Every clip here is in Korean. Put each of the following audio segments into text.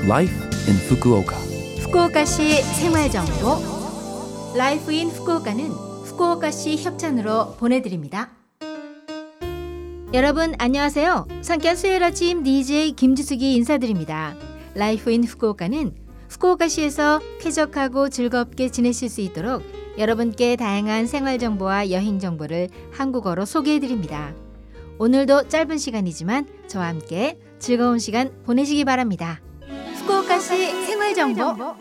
Life in Fukuoka. 후쿠오카시 생활정보 Life in Fukuoka는 후쿠오카시 협찬으로 보내드립니다. 여러분 안녕하세요. 상쾌한 수요일 아침 DJ 김지숙이 인사드립니다. Life in Fukuoka는 후쿠오카시에서 쾌적하고 즐겁게 지내실 수 있도록 여러분께 다양한 생활정보와 여행정보를 한국어로 소개해드립니다. 오늘도 짧은 시간이지만 저와 함께 즐거운 시간 보내시기 바랍니다. 후쿠오카시 생활정보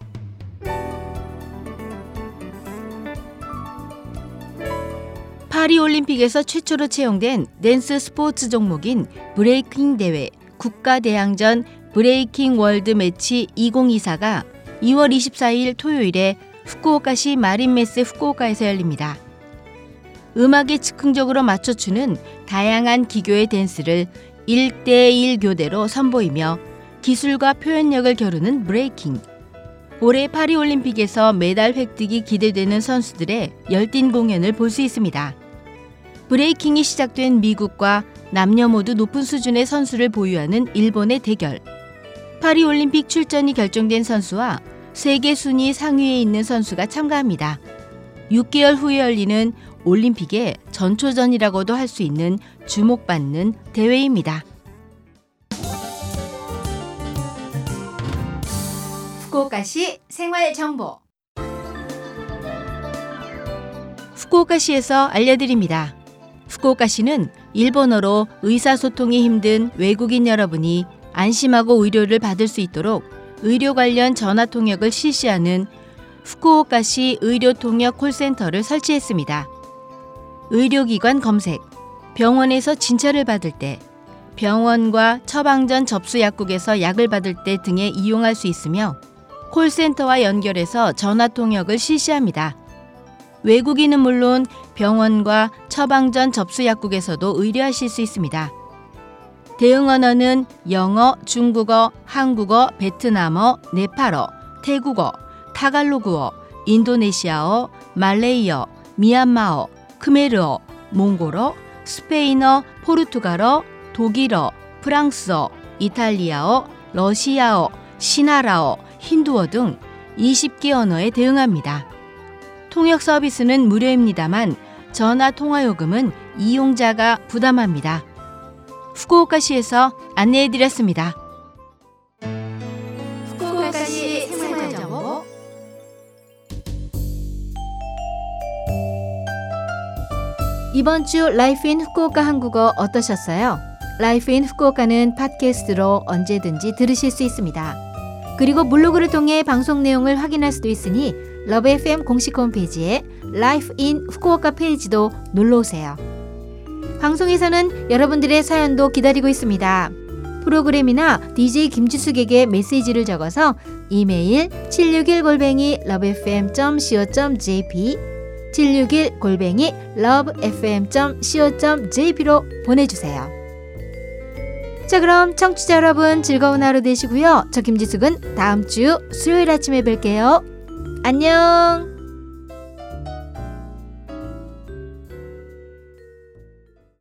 파리올림픽에서 최초로 채용된 댄스 스포츠 종목인 브레이킹 대회 국가대항전 브레이킹 월드 매치 2024가 2월 24일 토요일에 후쿠오카시 마린메스 후쿠오카에서 열립니다. 음악에 즉흥적으로 맞춰추는 다양한 기교의 댄스를 1대1 교대로 선보이며 기술과 표현력을 겨루는 브레이킹. 올해 파리올림픽에서 메달 획득이 기대되는 선수들의 열띤 공연을 볼 수 있습니다. 브레이킹이 시작된 미국과 남녀 모두 높은 수준의 선수를 보유하는 일본의 대결. 파리올림픽 출전이 결정된 선수와 세계 순위 상위에 있는 선수가 참가합니다. 6개월 후에 열리는 올림픽의 전초전이라고도 할 수 있는 주목받는 대회입니다. 후쿠오카시 생활정보 후쿠오카시에서 알려드립니다. 후쿠오카시는 일본어로 의사소통이 힘든 외국인 여러분이 안심하고 의료를 받을 수 있도록 의료 관련 전화 통역을 실시하는 후쿠오카시 의료통역 콜센터를 설치했습니다. 의료기관 검색, 병원에서 진찰을 받을 때, 병원과 처방전 접수 약국에서 약을 받을 때 등에 이용할 수 있으며 콜센터와 연결해서 전화 통역을 실시합니다. 외국인은 물론 병원과 처방전 접수 약국에서도 의뢰하실 수 있습니다. 대응 언어는 영어, 중국어, 한국어, 베트남어, 네팔어, 태국어, 타갈로그어, 인도네시아어, 말레이어, 미얀마어, 크메르어, 몽골어, 스페인어, 포르투갈어, 독일어, 프랑스어, 이탈리아어, 러시아어, 시나라어, 힌두어 등 20개 언어에 대응합니다. 통역 서비스는 무료입니다만 전화 통화 요금은 이용자가 부담합니다. 후쿠오카시에서 안내해드렸습니다. 후쿠오카시 생활정보 이번 주 라이프 인 후쿠오카 한국어 어떠셨어요? 라이프 인 후쿠오카는 팟캐스트로 언제든지 들으실 수 있습니다. 그리고 블로그를 통해 방송 내용을 확인할 수도 있으니 러브 FM 공식 홈페이지에 라이프 인 후쿠오카 페이지도 놀러오세요. 방송에서는 여러분들의 사연도 기다리고 있습니다. 프로그램이나 DJ 김지숙에게 메시지를 적어서 이메일 761@lovefm.co.jp 761@lovefm.co.jp로 보내주세요. 자, 그럼 청취자 여러분 즐거운 하루 되시고요. 저 김지숙은 다음 주 수요일 아침에 뵐게요. 안녕.